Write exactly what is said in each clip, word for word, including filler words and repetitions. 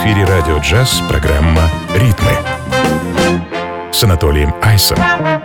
эфире радио «Джаз» программа «Ритмы» с Анатолием Айсом.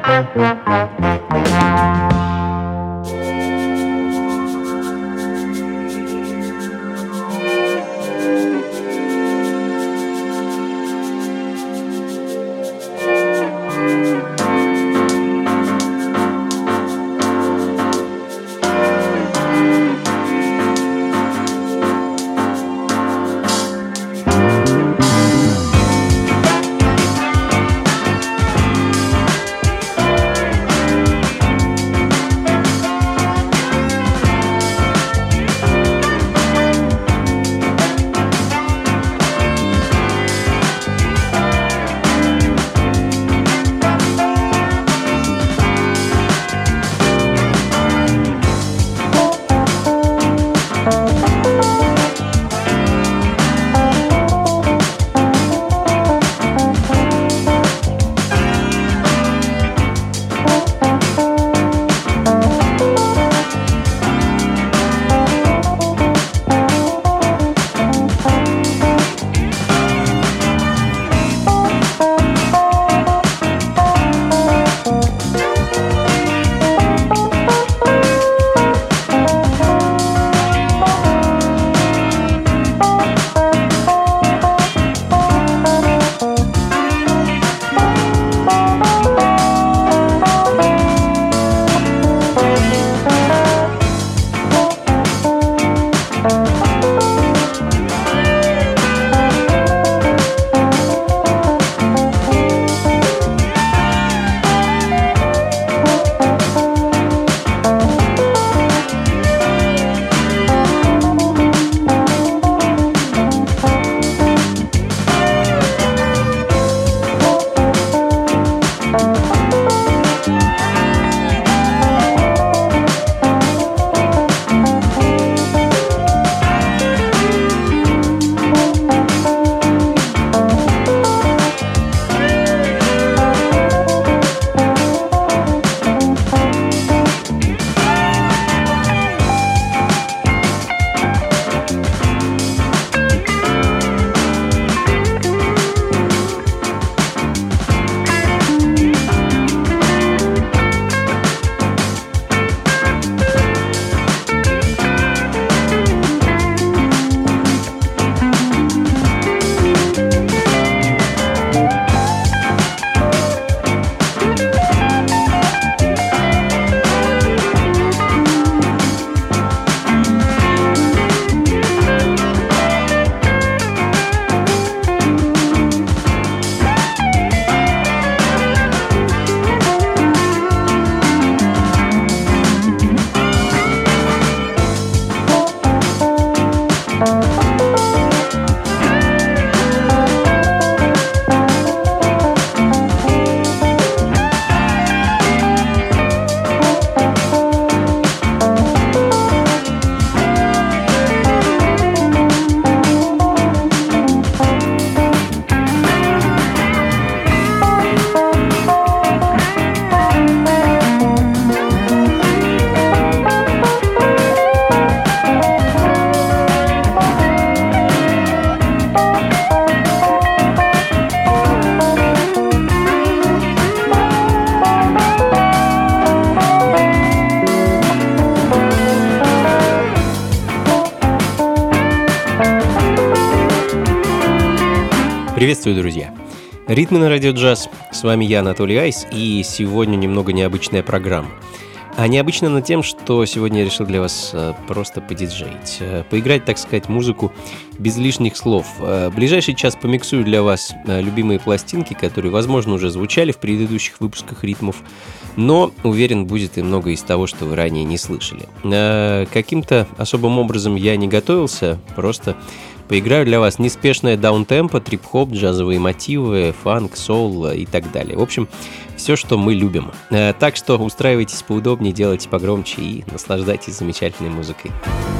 Приветствую, друзья! Ритмы на радио «Джаз». С вами я, Анатолий Айс, и сегодня немного необычная программа. А необычно она тем, что сегодня я решил для вас просто подиджеить, поиграть, так сказать, музыку без лишних слов. В ближайший час помиксую для вас любимые пластинки, которые, возможно, уже звучали в предыдущих выпусках ритмов, но, уверен, будет и много из того, что вы ранее не слышали. Каким-то особым образом я не готовился, просто поиграю для вас неспешное даунтемпо, трип-хоп, джазовые мотивы, фанк, соул и так далее. В общем, все, что мы любим. Так что устраивайтесь поудобнее, делайте погромче и наслаждайтесь замечательной музыкой.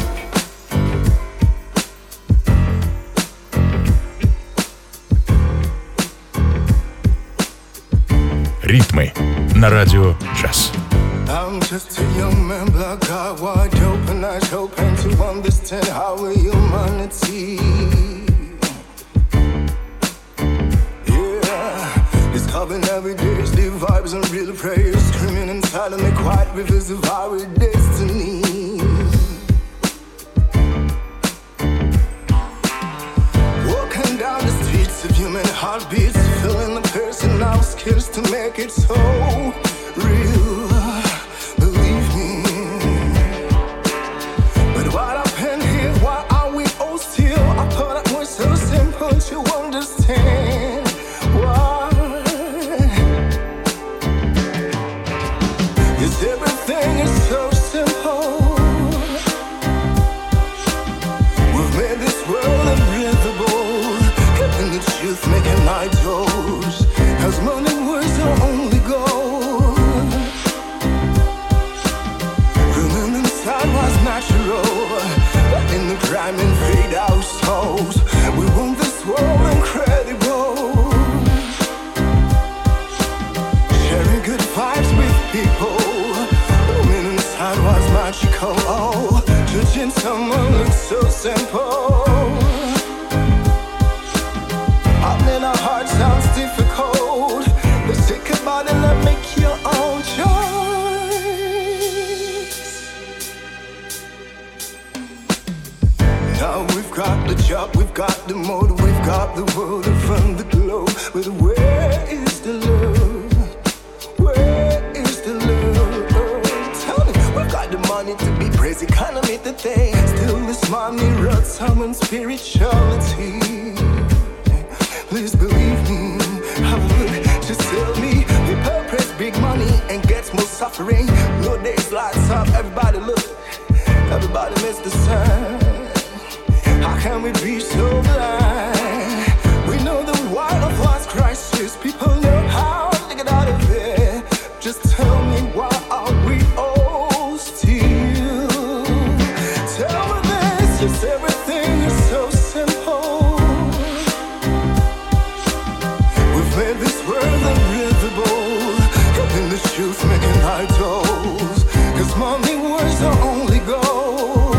Ритмы на радио «Джаз». I'm just a young man, black eye, wide open eyes, hoping to understand how humanity Loving every day, the vibes and real praise. Screaming inside of me, quiet rivers of our destiny. Walking down the streets of human heartbeats, feeling the person now scarce to make it so real. Believe me. But what happened here? Why are we all still? I thought it was so simple to understand. Why? Yes, everything is so simple. We've made this world unbreathable, keeping the truth, making idols. As money was our only goal. Rooming inside was natural, letting the crime invade our souls. We want this world incredible, sharing good vibes with people. Rooming inside was magical. Oh, judging someone looks so simple. Opening our heart sounds difficult. Let's think about it and make your own choice. Now we've got the job, we've got the mode, we've got the world around the globe. But where is the love? Where is the love? Tell me, we've got the money to be praised, economy the thing. Still this money runs someone's spirituality. Please believe me, have a look, just tell me. People praise big money and gets more suffering. No days lights up, everybody look, everybody miss the sun. How can we be so blind? We know the wide of life's crisis. People know how to get out of there. Just tell me, why are we all still? Tell me this, just everything is so simple. We've made this world unbreathable, keeping the truth, making idols. Cause money was our only goal.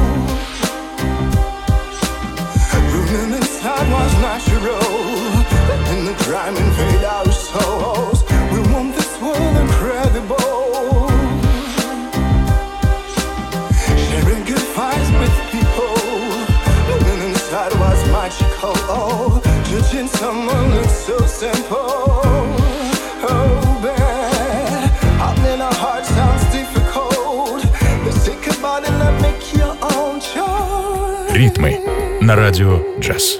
Rooming inside was natural, letting the crime invade our souls. We want this world incredible, sharing good vibes with people. Living inside was magical. Oh, judging someone looks so simple. Oh, bad. Opening our heart sounds difficult. Let's think about it and make your own choice. Ритмы на радио «Джаз».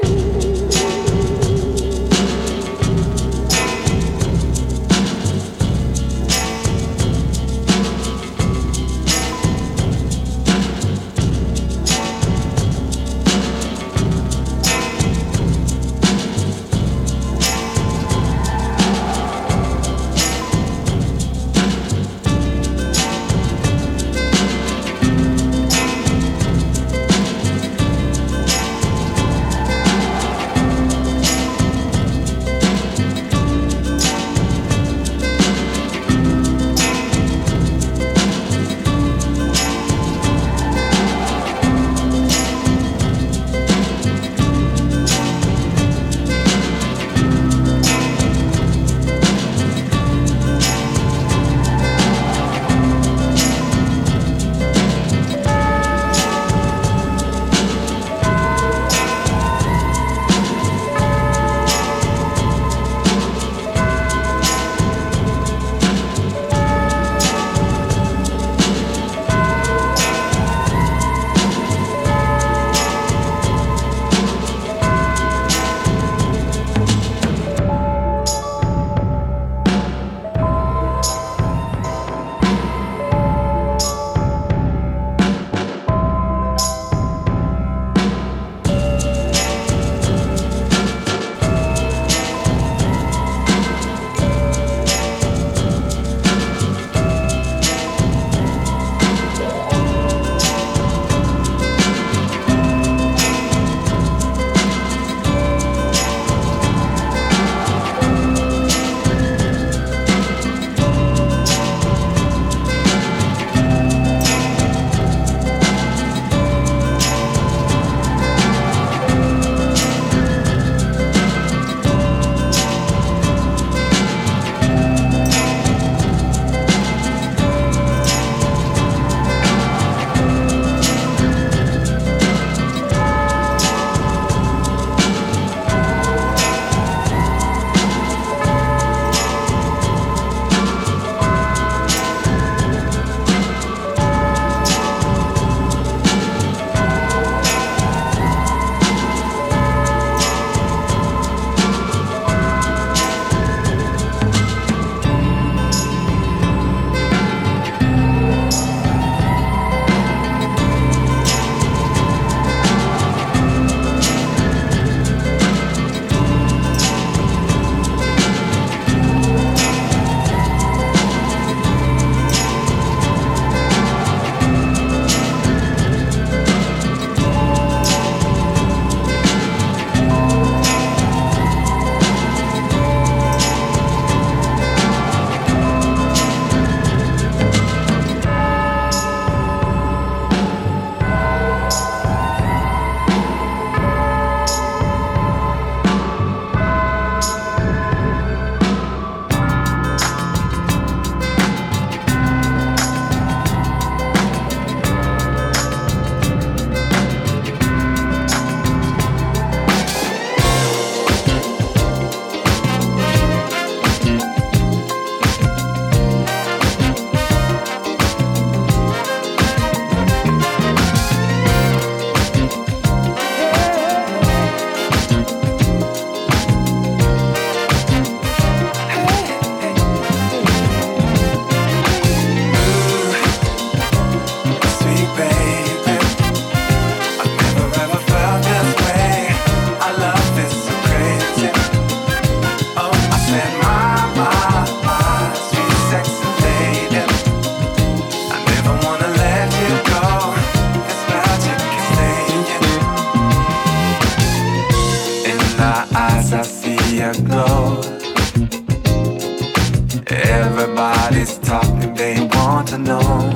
you glow. Everybody's talking, they want to know.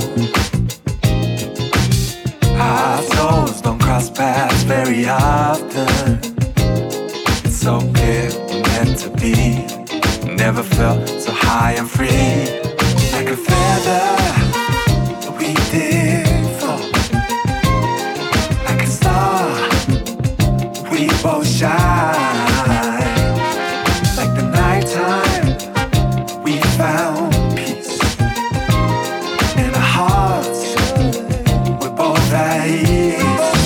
Our souls don't cross paths very often. It's so clear we're meant to be. Never felt so high and free. Like a feather we did fall. Like a star we both shine. Like the nighttime we found peace. In our hearts we're both at ease.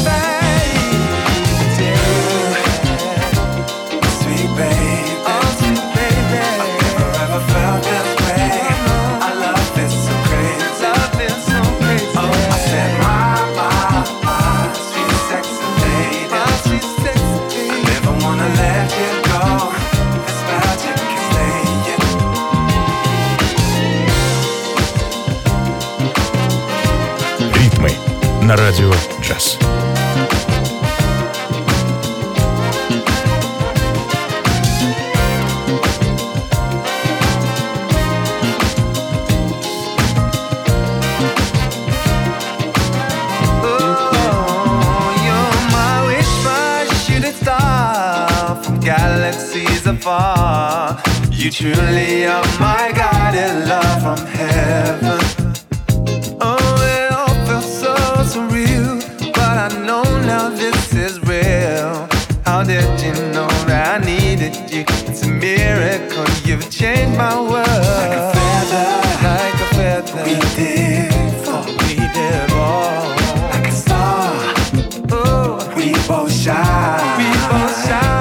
Sweet baby, oh sweet baby, I've never ever felt this way. I love this so crazy, love this so crazy. Oh, I said my, my, my sweet sexy lady, my sweet sexy lady. I never wanna let you go. This magic can stay, yeah. Ритмы на радио джаз. Galaxies afar, you truly are my guided love from heaven. Oh, it all feels so surreal, but I know now this is real. How did you know that I needed you? It's a miracle, you've changed my world. Like a feather, like a feather, we did fall, we did fall. Like a star, oh, we both shine, we both shine.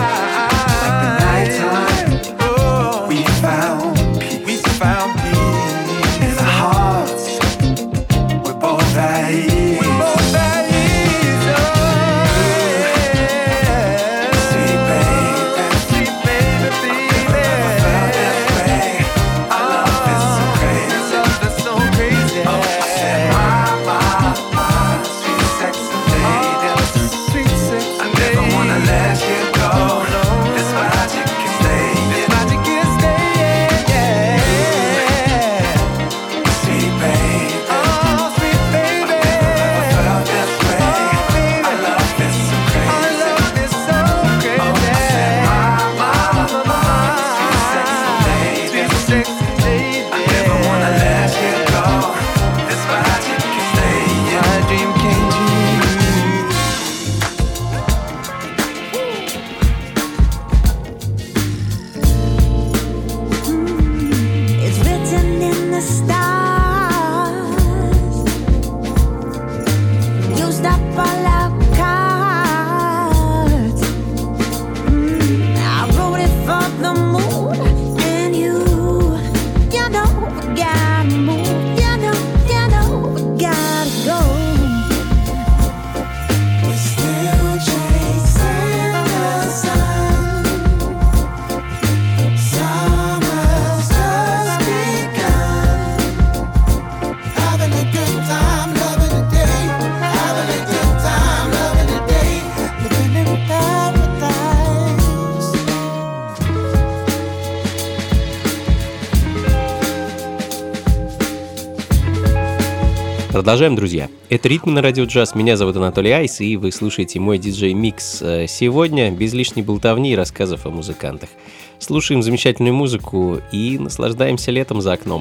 Продолжаем, друзья. Это «Ритмы на радио джаз». Меня зовут Анатолий Айс, и вы слушаете мой диджей-микс. Сегодня без лишней болтовни и рассказов о музыкантах. Слушаем замечательную музыку и наслаждаемся летом за окном.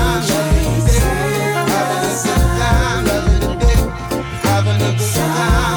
Having a good time.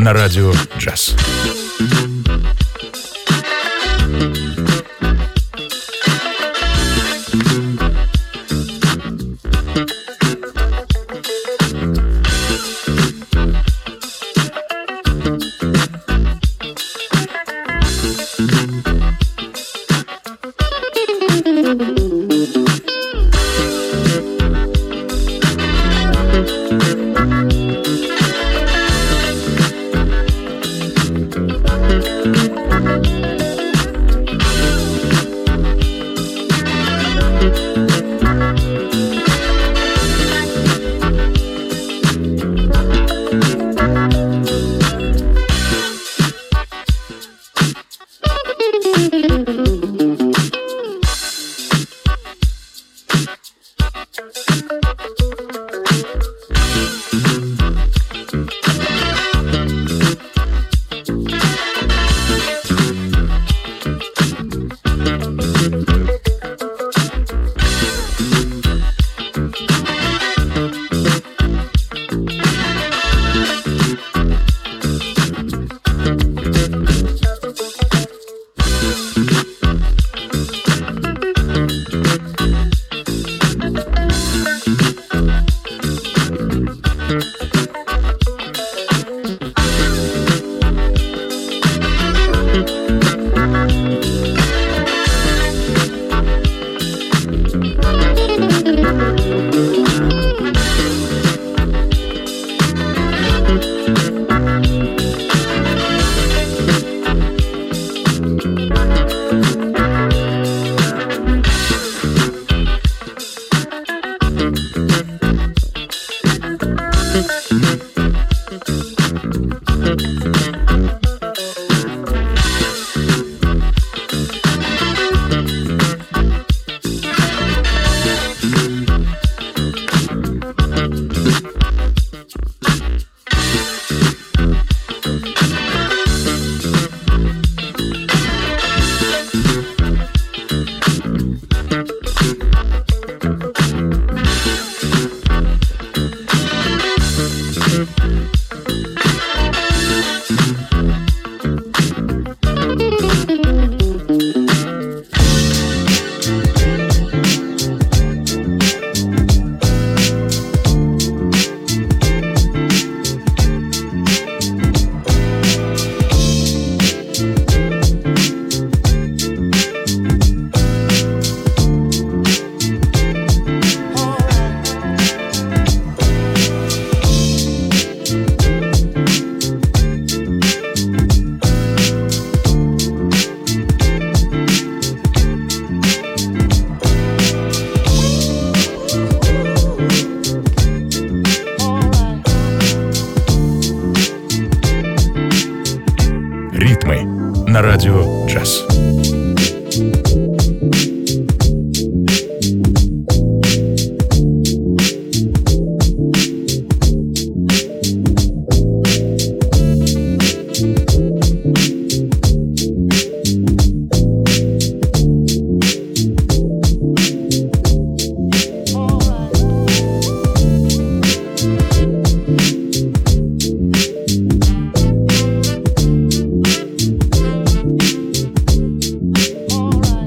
на радио «Джаз». На радио «Джаз». Alright.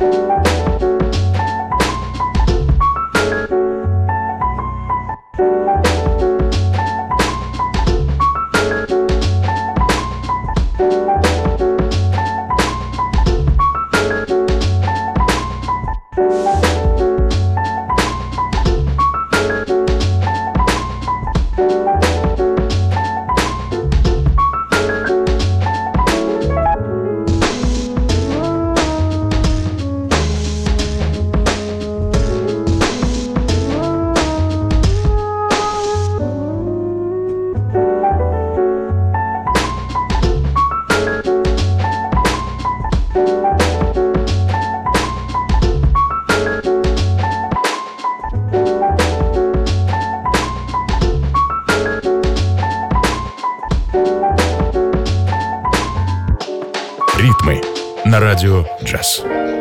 Ритмы на радио «Джаз».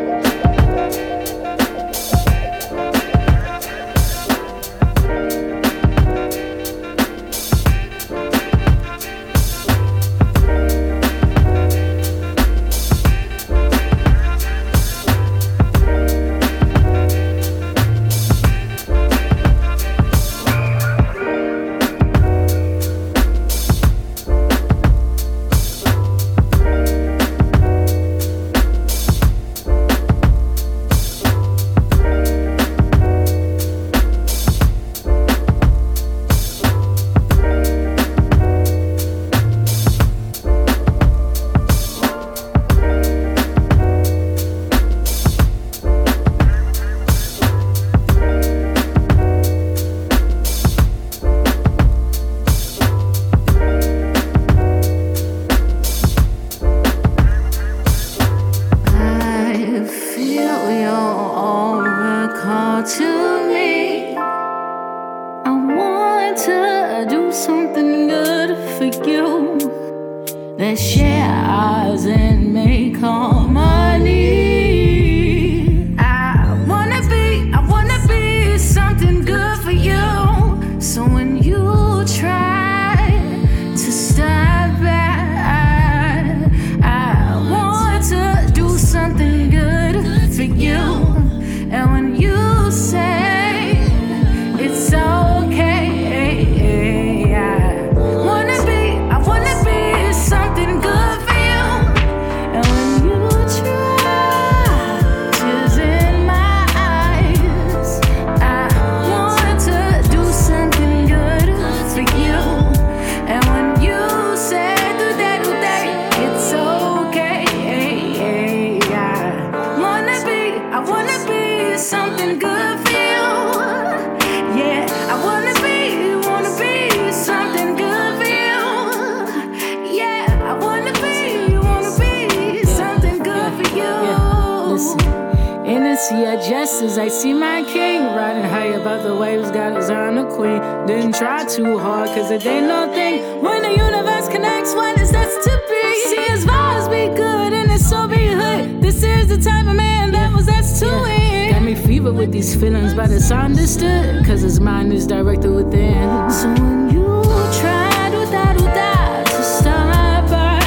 As I see my king riding high above the waves, got his on the queen. Didn't try too hard, cause it ain't no thing. When the universe connects, what is that's to be? See his vibes be good and his soul be hood. This is the type of man that was that's to win. Got me fever with these feelings, but it's understood, cause his mind is directed within. So when you try to da do da to stop by,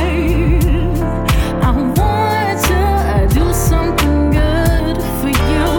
I want to do something good for you.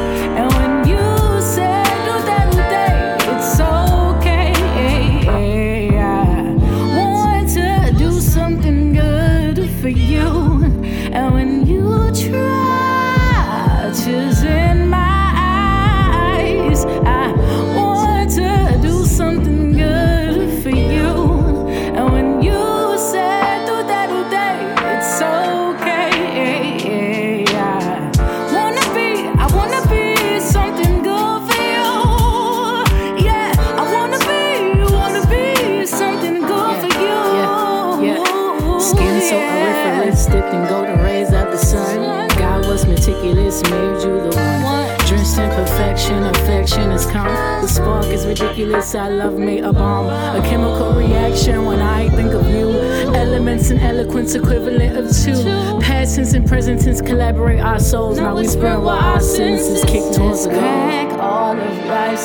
Meticulous, made you the one. Drenched in perfection, affection is calm. The spark is ridiculous, I love me a bomb. A chemical reaction when I think of you. Elements and eloquence equivalent of two. Past tense and present tense collaborate our souls. Now we spread while our senses kick towards the goal. Crack all of life's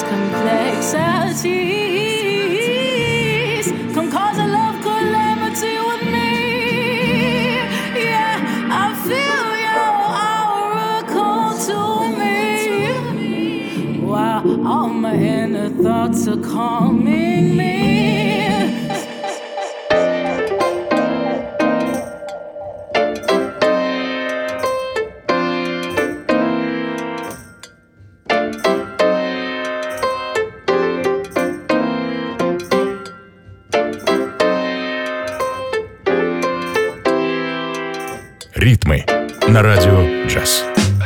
complexities. Come cause a love calamity with me. Yeah, I feel your aura cold. All my inner thoughts are calming me. Ритмы на радио джаз.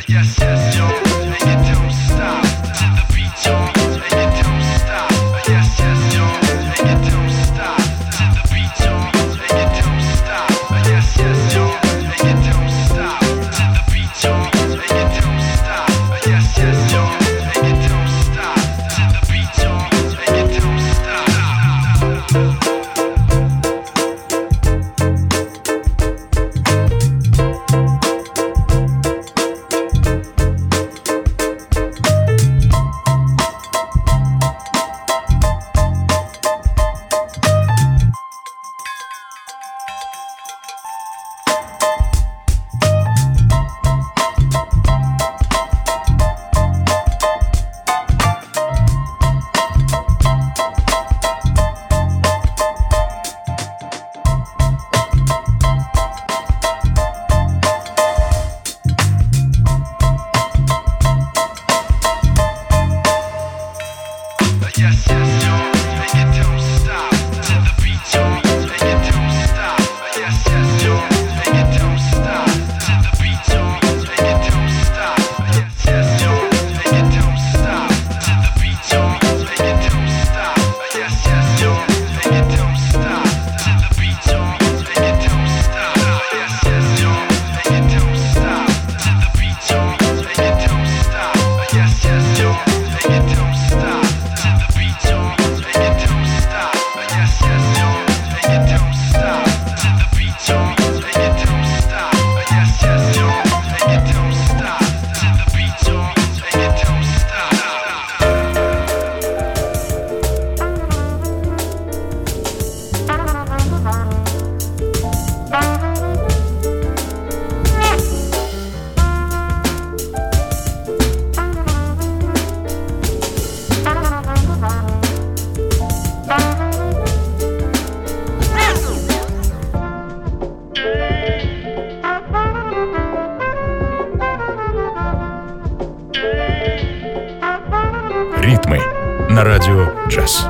Ритмы на радио джаз.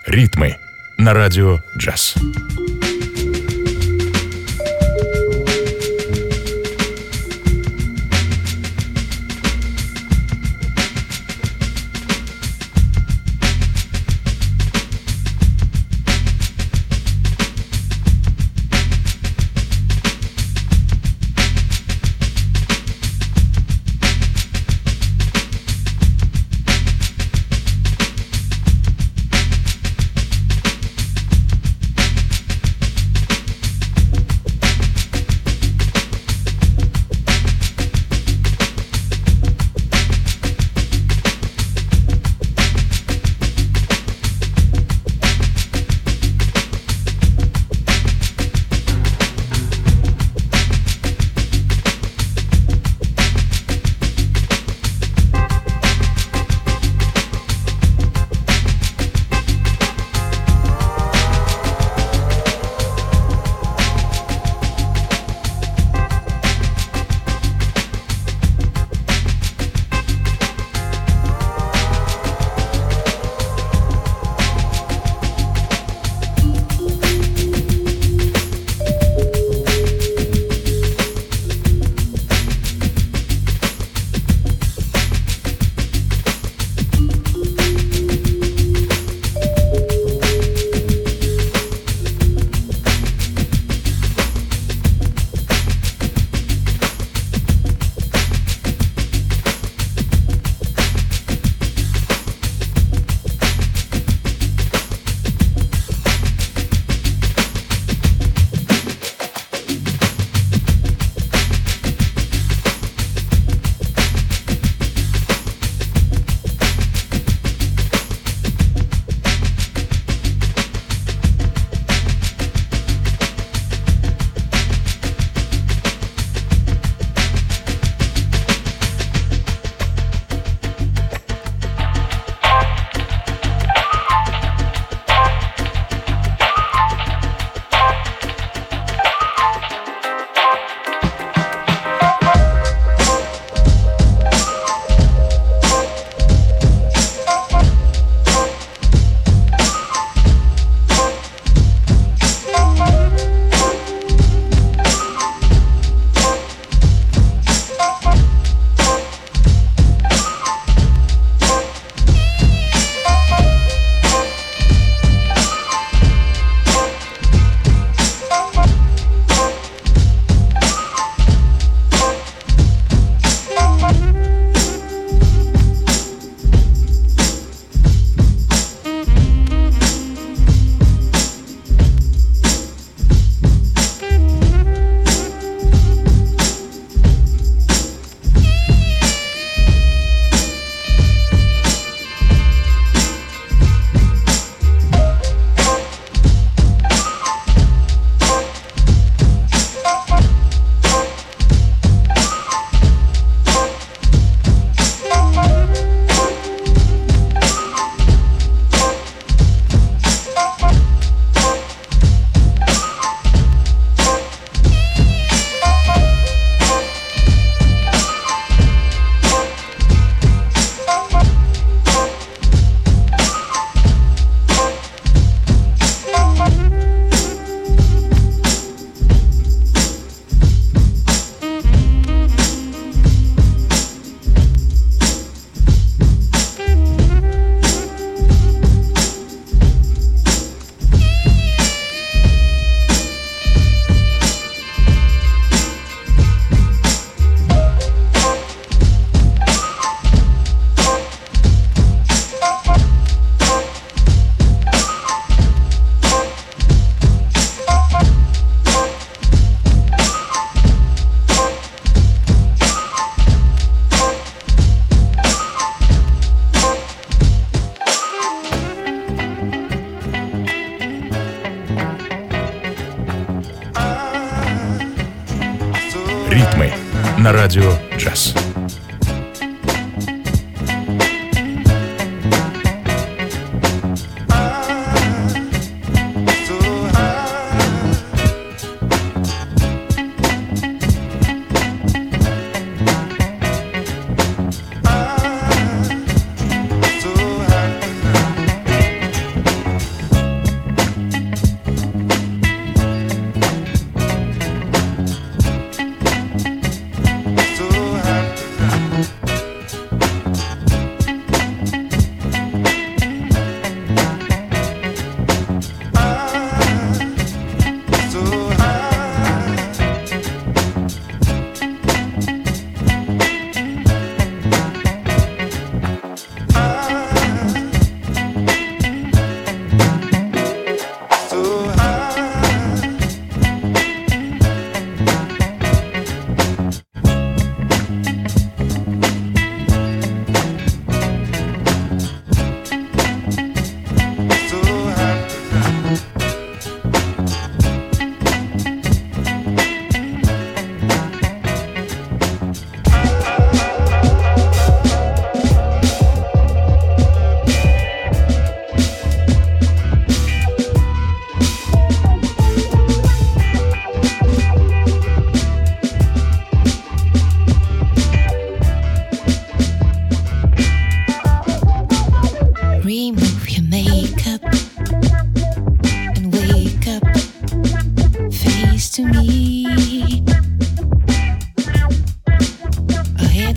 Ритмы на радио «Джаз». Ритмы на радио «Джаз».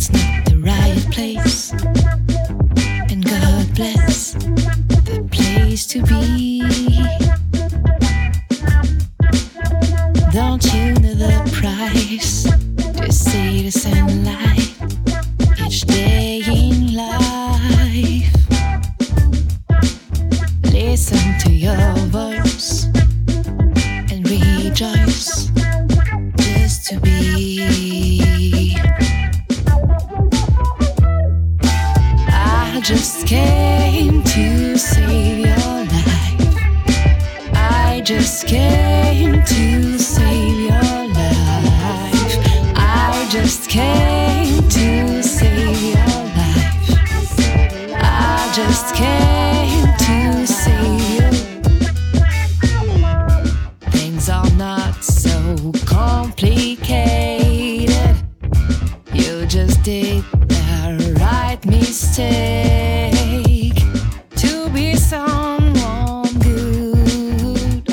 it's not the right place. And God bless the place to be. Don't you know the price to see the sunlight each day in life? Listen to your voice and rejoice just to be. I just came to save your life. I just came to save your life. I just came to save your life. I just came to save you. Things are not so complicated. You just did the right mistake to be someone good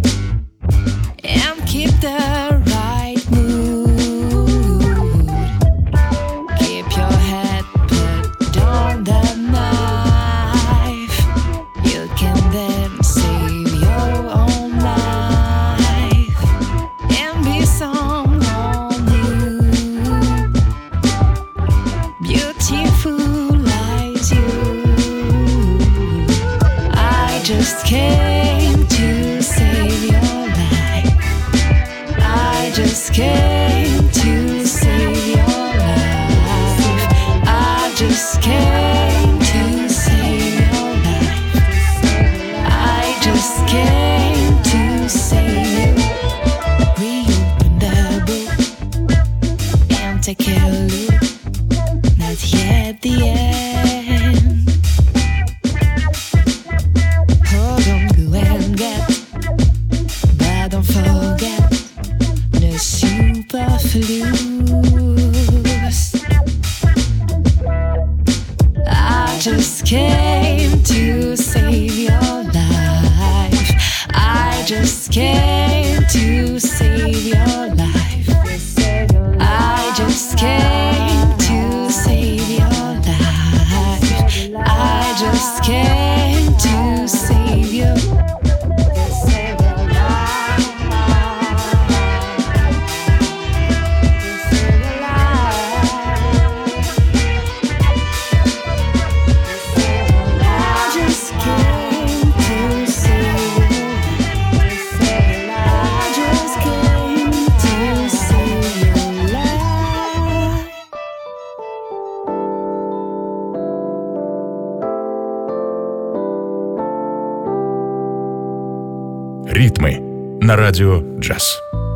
and keep the right mood. Keep your head put on the knife. You can then save your own life and be someone new, beautiful as you. I just came to save your life. I just came to save your life. I just came to save your life. I just came to save you. Reopen the book and take a look. Not yet the end. Hold on, go and get, but don't forget the superfluous. I just came to save your life. I just came to save your life. I just came to save your life. I just came to save you. Ритмы на радио «Джаз».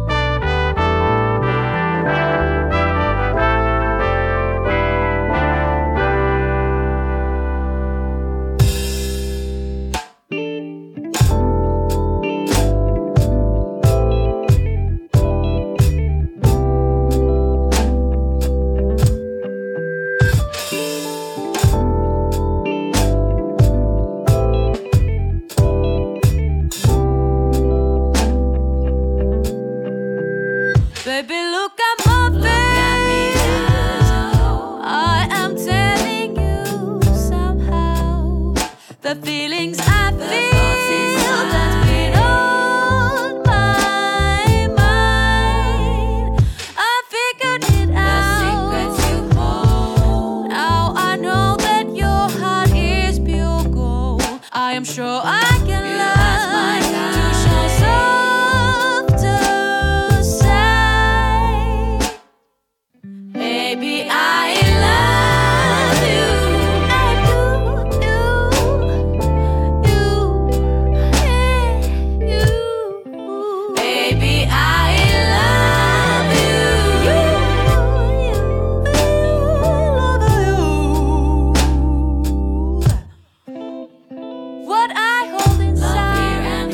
Baby, look at my face. I am telling you somehow the feelings I feel that's been on my mind. I figured it out. Now I know that your heart is pure gold. I am sure I can learn to show softer side. Baby, I love you. I do, you, you, yeah, you. Baby, I love you. You, you, you, love you. What I hold inside,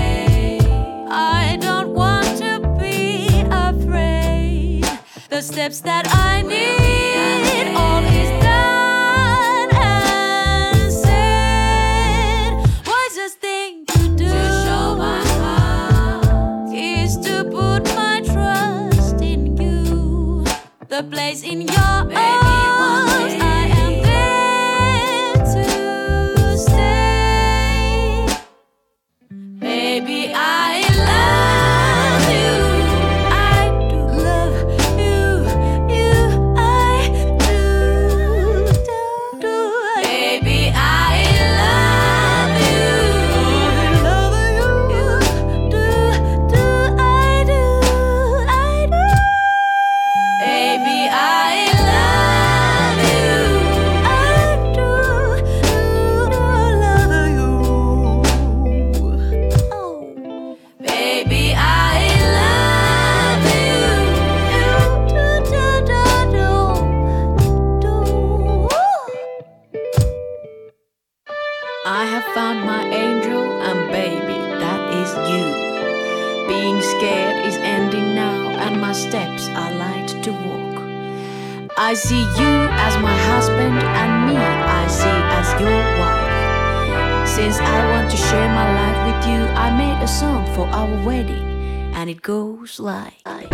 I don't want to be afraid. The steps that I need, all is done and said. Wisest thing to do to show my heart is to put my trust in you. The place in your arms. found my angel, and baby, that is you. Being scared is ending now, and my steps are light to walk. I see you as my husband, and me I see as your wife. Since I want to share my life with you, I made a song for our wedding, and it goes like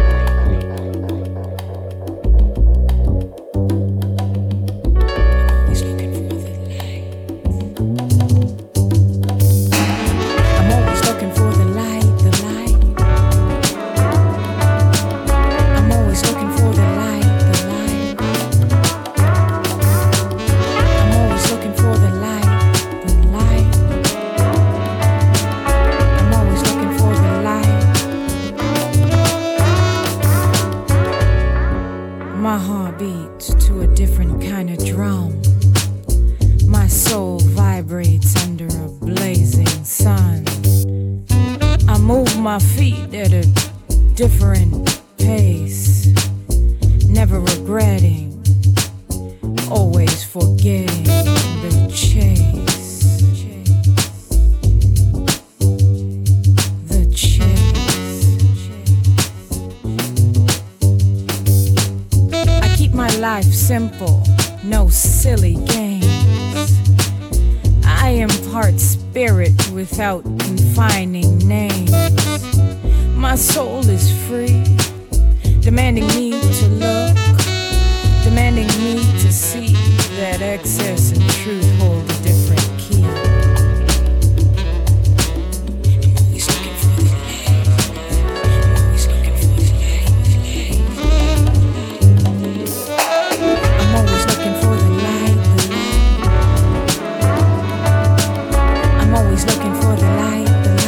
different pace, never regretting, always forgetting the chase, the chase. I keep my life simple, no silly games. I impart spirit without confining names. My soul is free, demanding me to look, demanding me to see that excess and truth hold a different key. Always looking for the light, always looking for the light. I'm always looking for the light, the light. I'm always looking for the light.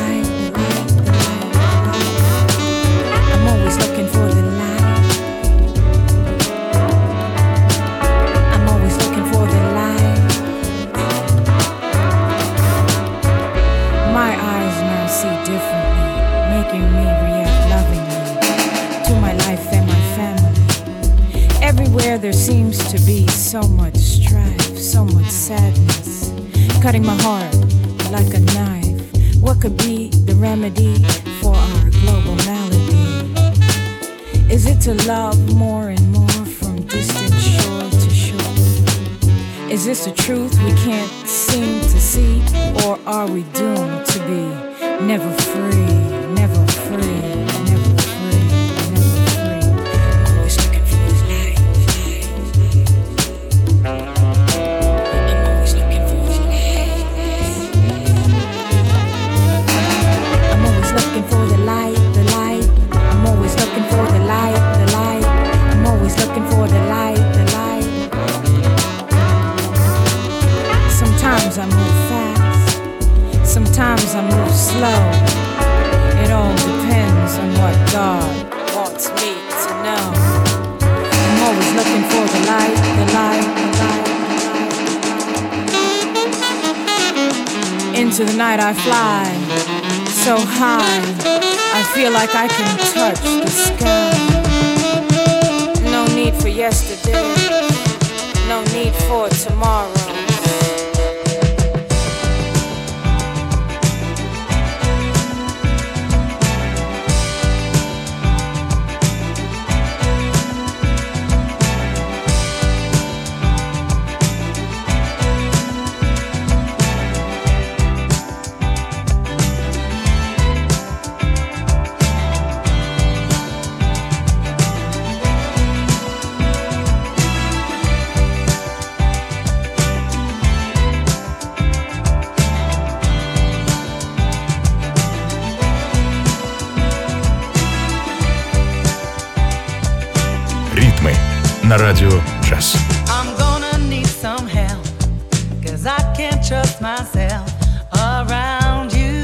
There seems to be so much strife, so much sadness, cutting my heart like a knife. What could be the remedy for our global malady? Is it to love more and more from distant shore to shore? Is this a truth we can't seem to see, or are we doomed to be never free, never free? I move fast, sometimes I move slow. It all depends on what God wants me to know. I'm always looking for the light, the light, the light. Into the night I fly, so high, I feel like I can touch the sky. No need for yesterday, no need for tomorrow. На радио Джаз. I'm gonna need some help, 'cause I can't trust myself around you.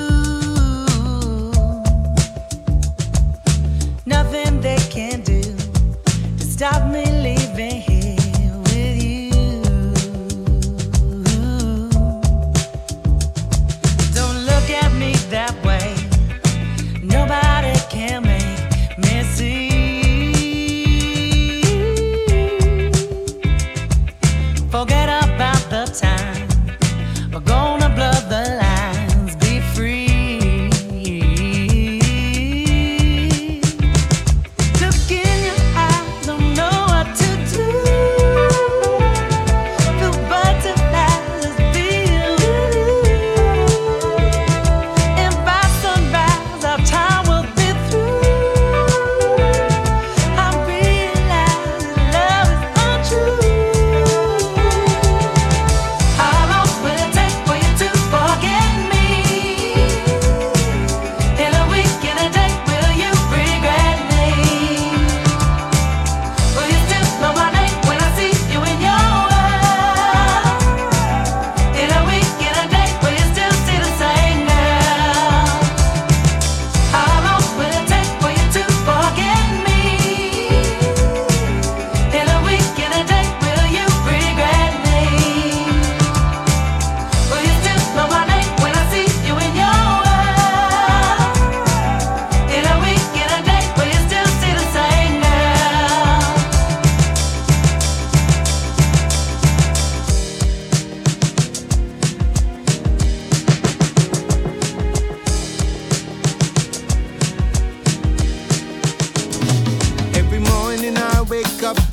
Nothing they can do to stop me leaving here with you. Don't look at me that way. Nobody can make me see. Forget about the time we're gonna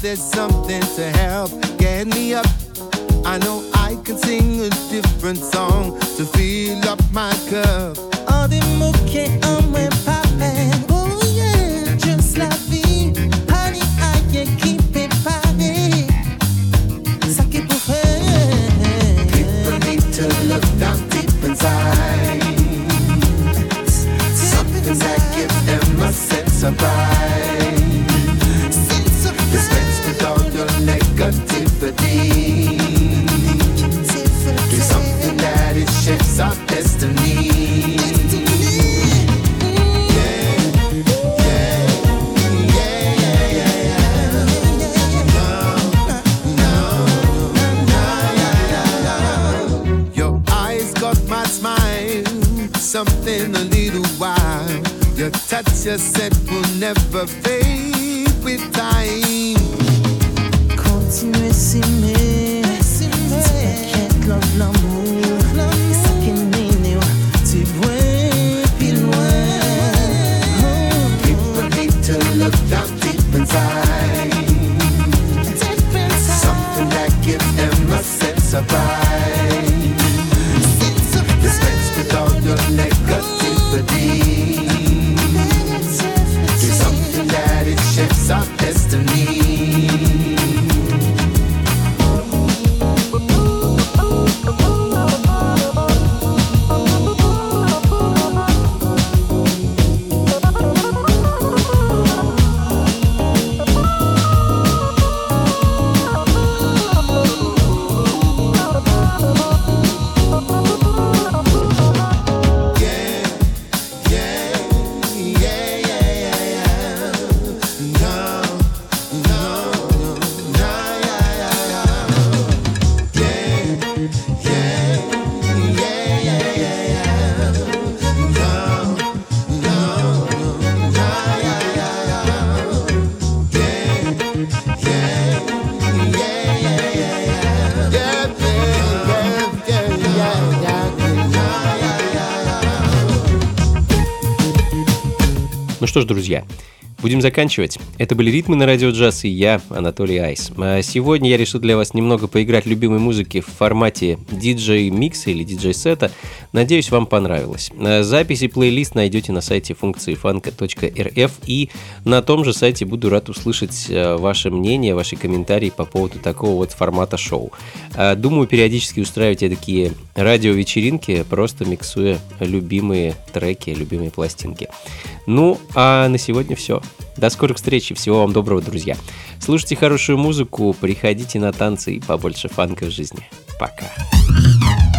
there's something to help get me up. I know I can sing a different song to fill up my cup. All the moquets on my poppin', oh yeah, just la vie. Honey, I can keep it party. Ça qui pour faire. People need to look down deep inside. Something that gives them a sense of pride. Dispense with all your negativity. Do something that it shapes our destiny. Something a little while. Your touch, you said, will never fade with time. Continuez s'aimer, t'inquiète, love l'amour. Ça qui mène tu vois plus loin. People need to look down deep inside. Something that gives them a sense of pride. Dispense with all your negativity. Do something that it shapes our destiny. Ну что ж, друзья, будем заканчивать. Это были «Ритмы на радио джаз» и я, Анатолий Айс. А сегодня я решил для вас немного поиграть любимой музыки в формате диджей-микса или диджей-сета. Надеюсь, вам понравилось. Запись и плейлист найдете на сайте функции фанка точка эр эф, и на том же сайте буду рад услышать ваше мнение, ваши комментарии по поводу такого вот формата шоу. Думаю, периодически устраивать такие радиовечеринки, просто миксуя любимые треки, любимые пластинки. Ну, а на сегодня все. До скорых встреч и всего вам доброго, друзья. Слушайте хорошую музыку, приходите на танцы и побольше фанка в жизни. Пока.